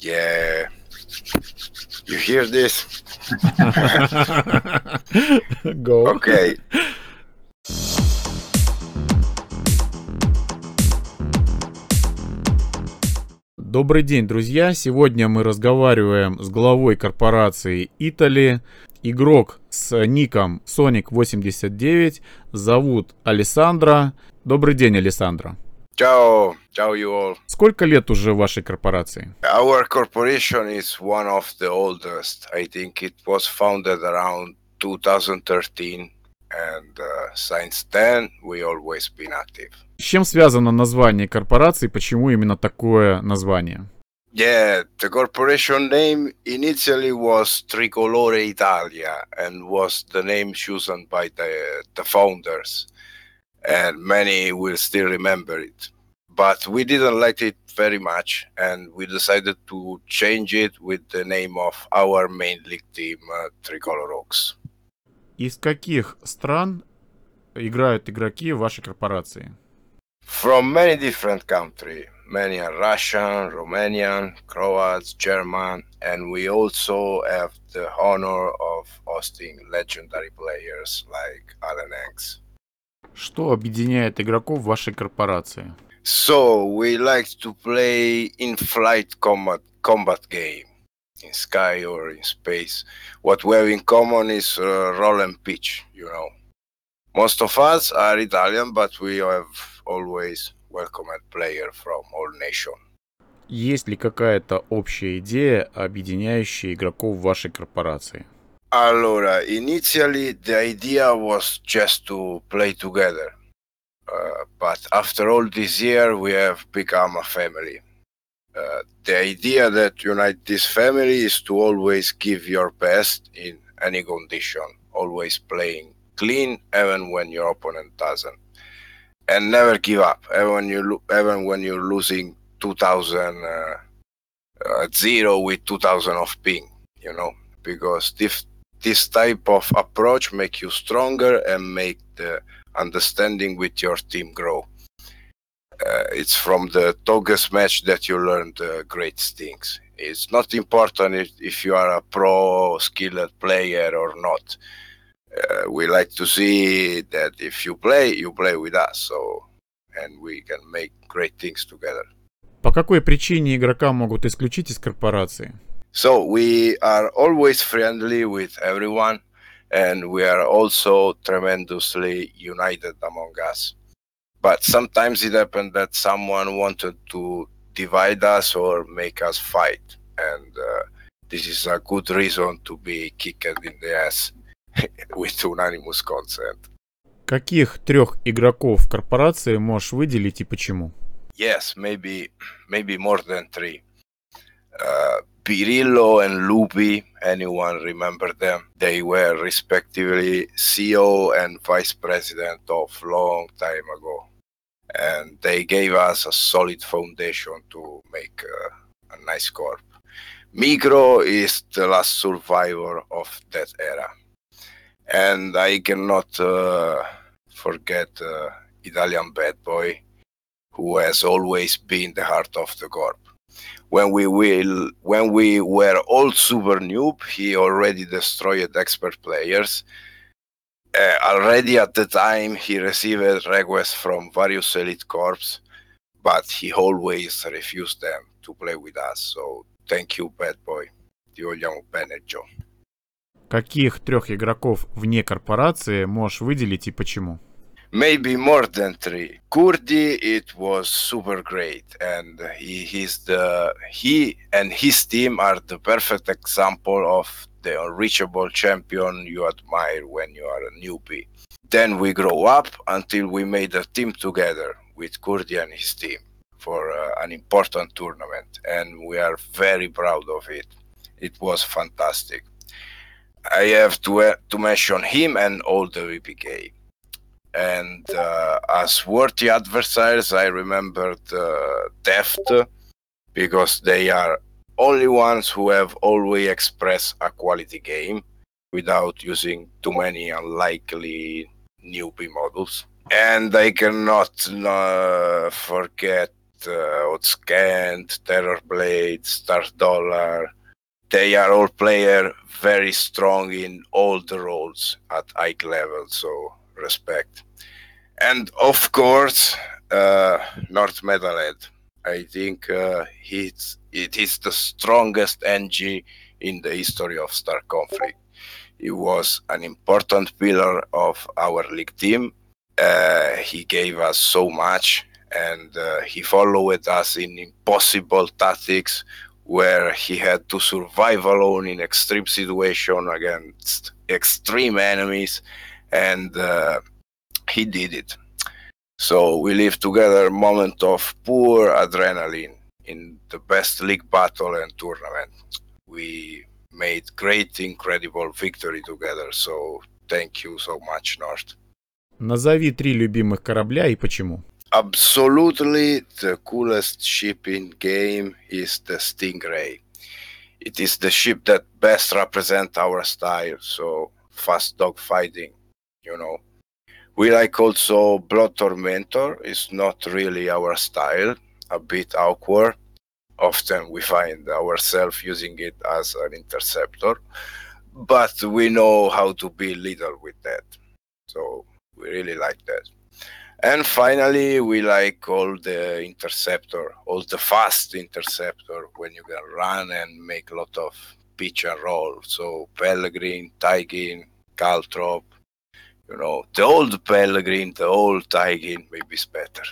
Yeah, you hear this? Go. Okay. Добрый день, друзья. Сегодня мы разговариваем с главой корпорации Italy. Игрок с ником Sonic89 зовут Алессандро. Добрый день, Алессандро. Ciao, you all. Сколько лет уже в вашей корпорации? Our corporation is one of the oldest. I think it was founded around 2013, and since then we always been active. С чем связано название корпорации? Почему именно такое название? Yeah, the corporation name initially was Tricolore Italia and was the name chosen by the founders, and many will still remember it. But we didn't like it very much, and we decided to change it with the name of our main league team, Tricolor Oaks. Из каких стран играют игроки в вашей корпорации? From many different countries. Many are Russian, Romanian, Croats, German, and we also have the honor of hosting legendary players like Alan X. Что объединяет игроков в вашей корпорации? So we like to play in-flight combat game, in sky or in space. What we have in common is roll and pitch, you know. Most of us are Italian, but we have always welcomed players from all nations. Есть ли какая-то общая идея, объединяющая игроков в вашей корпорации? Allora, initially the idea was just to play together. But after all this year, we have become a family. The idea that unites this family is to always give your best in any condition, always playing clean even when your opponent doesn't, and never give up even when you're losing 2000 0 with 2000 of ping, you know, because this type of approach make you stronger and make the understanding with your team grow. It's from the Togus match that you learn the great things. It's not important if you are a pro skilled player or not. We like to see that if you play with us, so and we can make great things together. По какой причине игрока могут исключить из корпорации? So we are always friendly with everyone, and we are also tremendously united among us. But sometimes it happened that someone wanted to divide us or make us fight, and this is a good reason to be kicked in the ass with unanimous consent. Каких трех игроков в корпорации можешь выделить и почему? Yes, maybe more than three. Pirillo and Lupi, anyone remember them? They were respectively CEO and vice president of long time ago. And they gave us a solid foundation to make a nice corp. Micro is the last survivor of that era. And I cannot forget Italian bad boy, who has always been the heart of the corp. When we were all super noob, he already destroyed expert players. Already at the time, he received requests from various elite corps, but he always refused them to play with us. So thank you, bad boy. Ti vogliamo bene, Joe. Каких трех игроков вне корпорации можешь выделить и почему? Maybe more than three. Kurdi, it was super great, and he and his team are the perfect example of the unreachable champion you admire when you are a newbie. Then we grow up until we made a team together with Kurdi and his team for an important tournament, and we are very proud of it. It was fantastic. I have to mention him and all the VPK. And as worthy adversaries, I remembered Deft, because they are only ones who have always expressed a quality game without using too many unlikely newbie models. And I cannot forget Outscanned, Terrorblade, Stars Dollar. They are all players very strong in all the roles at high level, so respect. And of course, North Metalhead. I think it is the strongest NG in the history of Star Conflict. He was an important pillar of our league team. He gave us so much, and he followed us in impossible tactics where he had to survive alone in extreme situation against extreme enemies, and he did it. So we live together a moment of pure adrenaline in the best league battle and tournament. We made great, incredible victory together. So thank you so much, North. Назови 3 любимых корабля и почему. Absolutely, the coolest ship in game is the Stingray. It is the ship that best represents our style. So fast dogfighting, you know. We like also Blood Tormentor. It's not really our style, a bit awkward. Often we find ourselves using it as an interceptor, but we know how to be little with that. So we really like that. And finally, we like all the interceptor, all the fast interceptor when you can run and make a lot of pitch and roll. So Pellegrin, Taigin, Caltrop, you know, the old Pellegrin, the old Taigin, maybe it's better.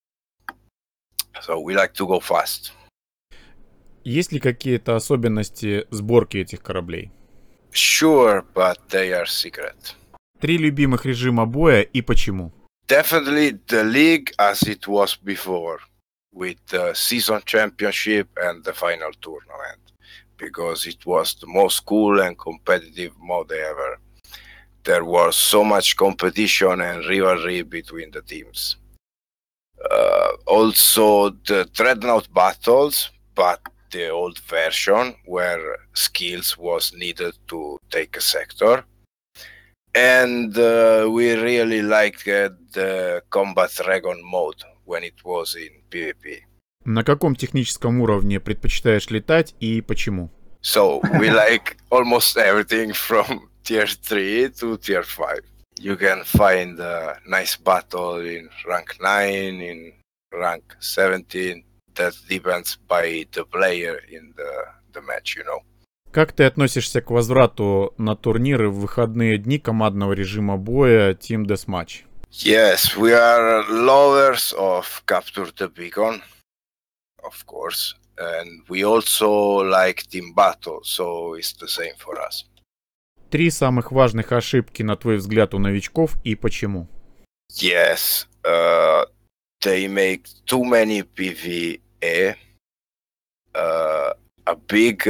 So we like to go fast. Есть ли какие-то особенности сборки этих кораблей? Sure, but they are secret. 3 любимых режима боя и почему? Definitely the league as it was before, with the season championship and the final tournament, because it was the most cool and competitive mode ever. There was so much competition and rivalry between the teams. Also the Dreadnought battles, but the old version where skills was needed to take a sector. And we really liked the Combat Dragon mode when it was in PvP. На каком техническом уровне предпочитаешь летать и почему? So we like almost everything from tier 3 to tier 5. You can find a nice battle in rank 9, in rank 17. That depends by the player in the match, you know. Как ты относишься к возврату на турниры в выходные дни командного режима боя Team Deathmatch? Yes, we are lovers of Capture the Beacon, of course, and we also like Team Battle, so it's the same for us. 3 самых важных ошибки, на твой взгляд, у новичков и почему? Yes, they make too many PvE. A big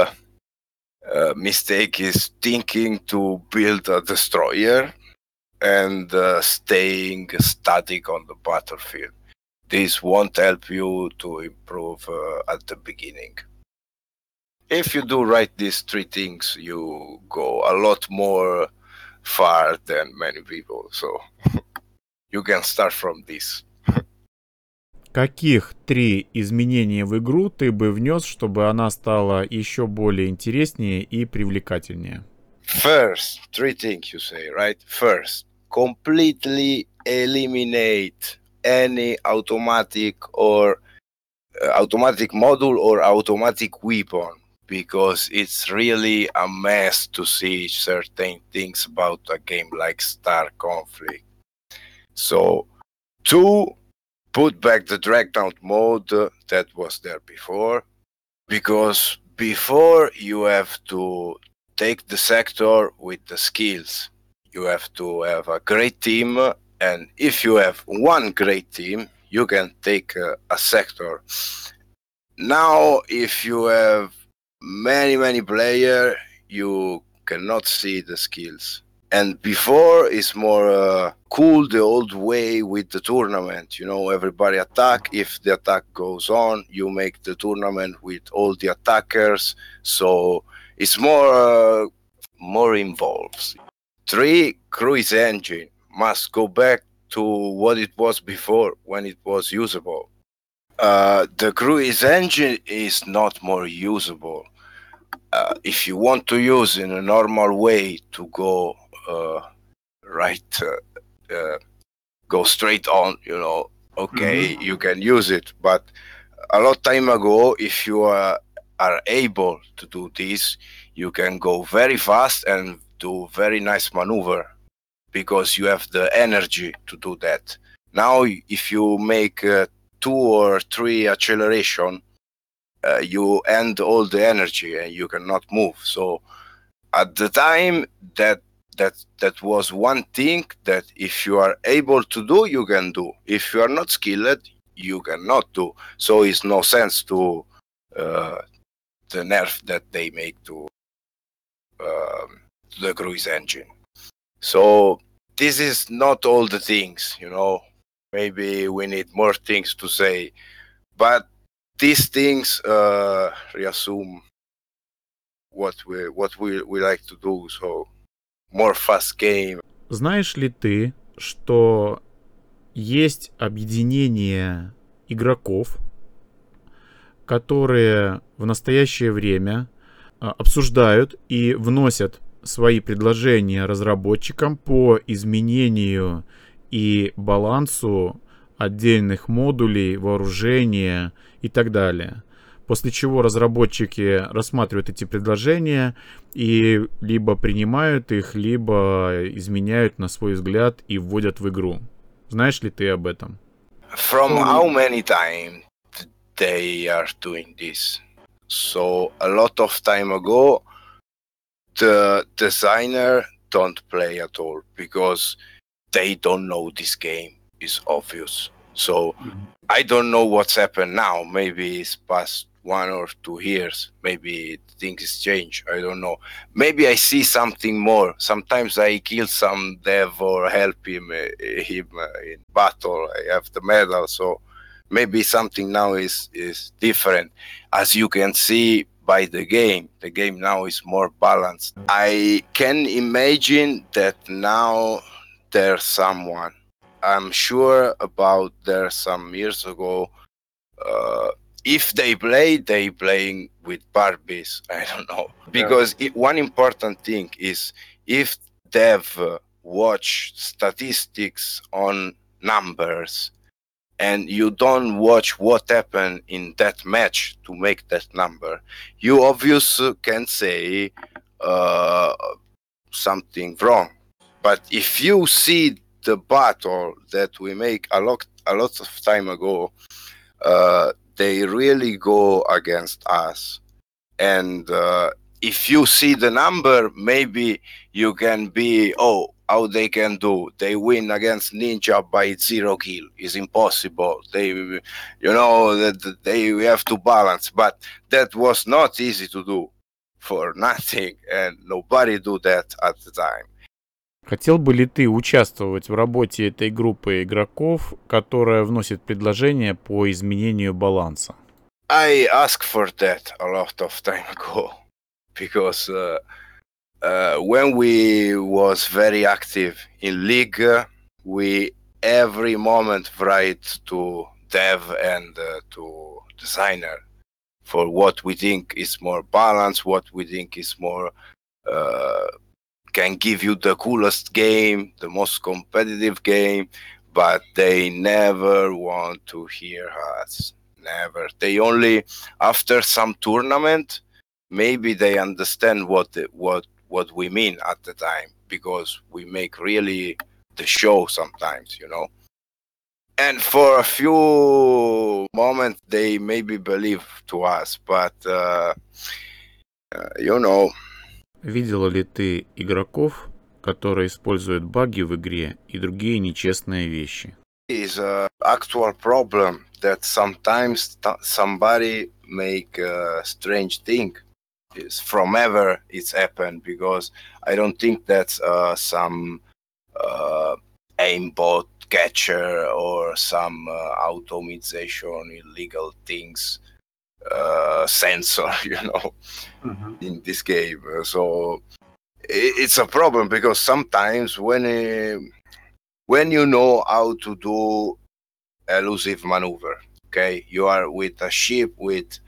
mistake is thinking to build a destroyer and staying static on the battlefield. This won't help you to improve at the beginning. If you do right these 3 things, you go a lot more far than many people. So you can start from this. Каких 3 изменения в игру ты бы внес, чтобы она стала еще более интереснее и привлекательнее? First, 3 things you say, right? First, completely eliminate any automatic or automatic module or automatic weapon, because it's really a mess to see certain things about a game like Star Conflict. So, 2, put back the Dreadnought mode that was there before, because before you have to take the sector with the skills. You have to have a great team, and if you have one great team, you can take a sector. Now, if you have many players, you cannot see the skills. And before it's more cool the old way with the tournament. You know, everybody attack. If the attack goes on, you make the tournament with all the attackers. So it's more involved. 3, cruise engine must go back to what it was before when it was usable. The cruise engine is not more usable. If you want to use in a normal way to go right, go straight on, okay, you can use it. But a lot time ago, if you are able to do this, you can go very fast and do very nice maneuver because you have the energy to do that. Now, if you make 2 or 3 acceleration, you end all the energy and you cannot move. So at the time, that was one thing that if you are able to do, you can do. If you are not skilled, you cannot do. So it's no sense to the nerf that they make to the cruise engine. So this is not all the things, Maybe we need more things to say, but these things reassume what we like to do. So more fast game. Знаешь ли ты, что есть объединение игроков, которые в настоящее время обсуждают и вносят свои предложения разработчикам по изменению и балансу отдельных модулей, вооружения и так далее. После чего разработчики рассматривают эти предложения и либо принимают их, либо изменяют на свой взгляд и вводят в игру. Знаешь ли ты об этом? From how many times they are doing this? So a lot of time ago, the designer don't play at all because they don't know this game. Is obvious. So I don't know what's happened now. Maybe it's past 1 or 2 years. Maybe things change. I don't know. Maybe I see something more. Sometimes I kill some dev or help him in battle. I have the medal. So maybe something now is different. As you can see by the game now is more balanced. I can imagine that now there's someone. I'm sure about there some years ago. If they playing with Barbies. I don't know, because one important thing is if dev watch statistics on numbers and you don't watch what happened in that match to make that number, you obviously can say something wrong. But if you see the battle that we make a lot of time ago, they really go against us. And if you see the number, maybe you can be, how they can do. They win against Ninja by 0 kill. It's impossible. We have to balance. But that was not easy to do for nothing. And nobody do that at the time. Хотел бы ли ты участвовать в работе этой группы игроков, которая вносит предложения по изменению баланса? I asked for that a lot of time ago because when we was very active in league, we every moment write to dev and to designer for what we think is more balanced, what we think is more can give you the coolest game, the most competitive game, but they never want to hear us. Never. They only after some tournament, maybe they understand what we mean at the time, because we make really the show sometimes, And for a few moments, they maybe believe to us, but Видела ли ты игроков, которые используют баги в игре и другие нечестные вещи? Is an actual problem that sometimes somebody make a strange thing. It's from ever it's happened, because I don't think that's some aimbot catcher or some automation illegal things sensor, in this game. So it's a problem, because sometimes when you know how to do elusive maneuver, Okay, you are with a ship with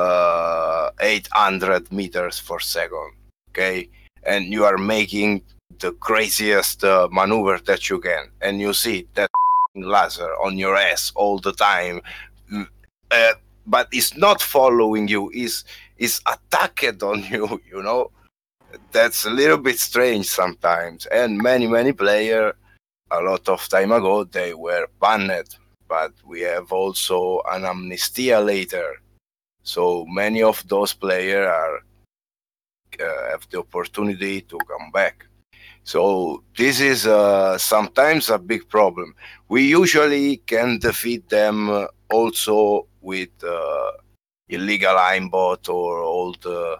800 meters per second. Okay, and you are making the craziest maneuver that you can, and you see that laser on your ass all the time, uh, but it's not following you, is attacked on you. You know, that's a little bit strange sometimes. And many players a lot of time ago they were banned, but we have also an amnestia later, so many of those players are have the opportunity to come back. So this is sometimes a big problem. We usually can defeat them also with illegal aimbot or all the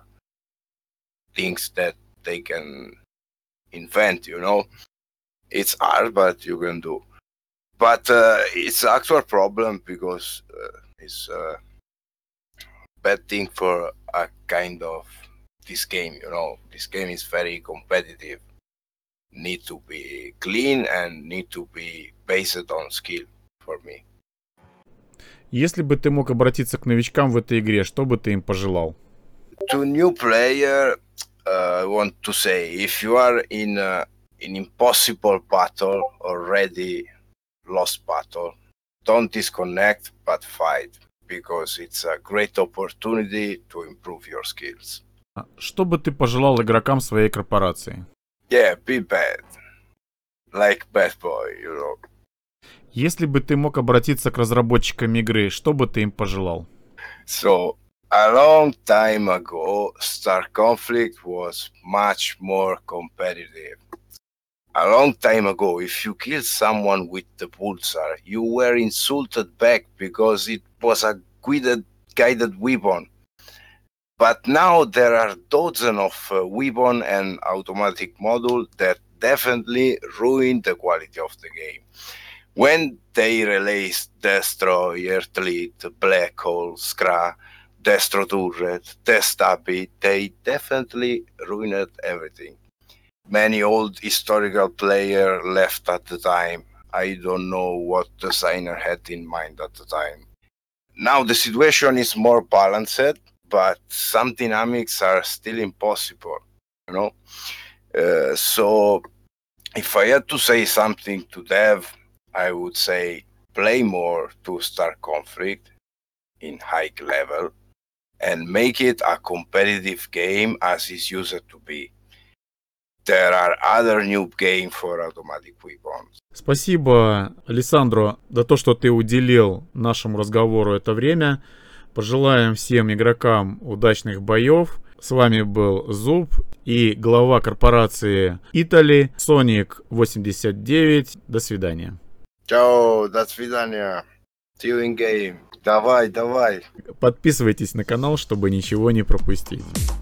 things that they can invent. You know, it's hard, but you can do. But it's actual problem because it's a bad thing for a kind of this game. You know, this game is very competitive. Need to be clean and need to be based on skill for me. Если бы ты мог обратиться к новичкам в этой игре, что бы ты им пожелал? To new player, I want to say if you are in an impossible battle, already lost battle, don't disconnect but fight, because it's a great opportunity to improve your skills. Что бы ты пожелал игрокам своей корпорации? Yeah, be bad. Like bad boy, you know. Если бы ты мог обратиться к разработчикам игры, что бы ты им пожелал? So, a long time ago, Star Conflict was much more competitive. A long time ago, if you killed someone with the pulsar, you were insulted back because it was a guided weapon. But now there are dozens of weapon and automatic module that definitely ruin the quality of the game. When they released Destroy, Earthlit, Black Hole, Scra, Destro Turret, Testabi, they definitely ruined everything. Many old historical players left at the time. I don't know what designer had in mind at the time. Now the situation is more balanced, but some dynamics are still impossible, you know. So if I had to say something to dev, I would say play more to Star Conflict in high level and make it a competitive game as it's used to be. There are other new games for automatic weapons. Спасибо, Алессандро, за то, что ты уделил нашему разговору это время. Пожелаем всем игрокам удачных боев. С вами был Зуб и глава корпорации Italy, Sonic89. До свидания. Чао, до свидания. See you in game. Давай. Подписывайтесь на канал, чтобы ничего не пропустить.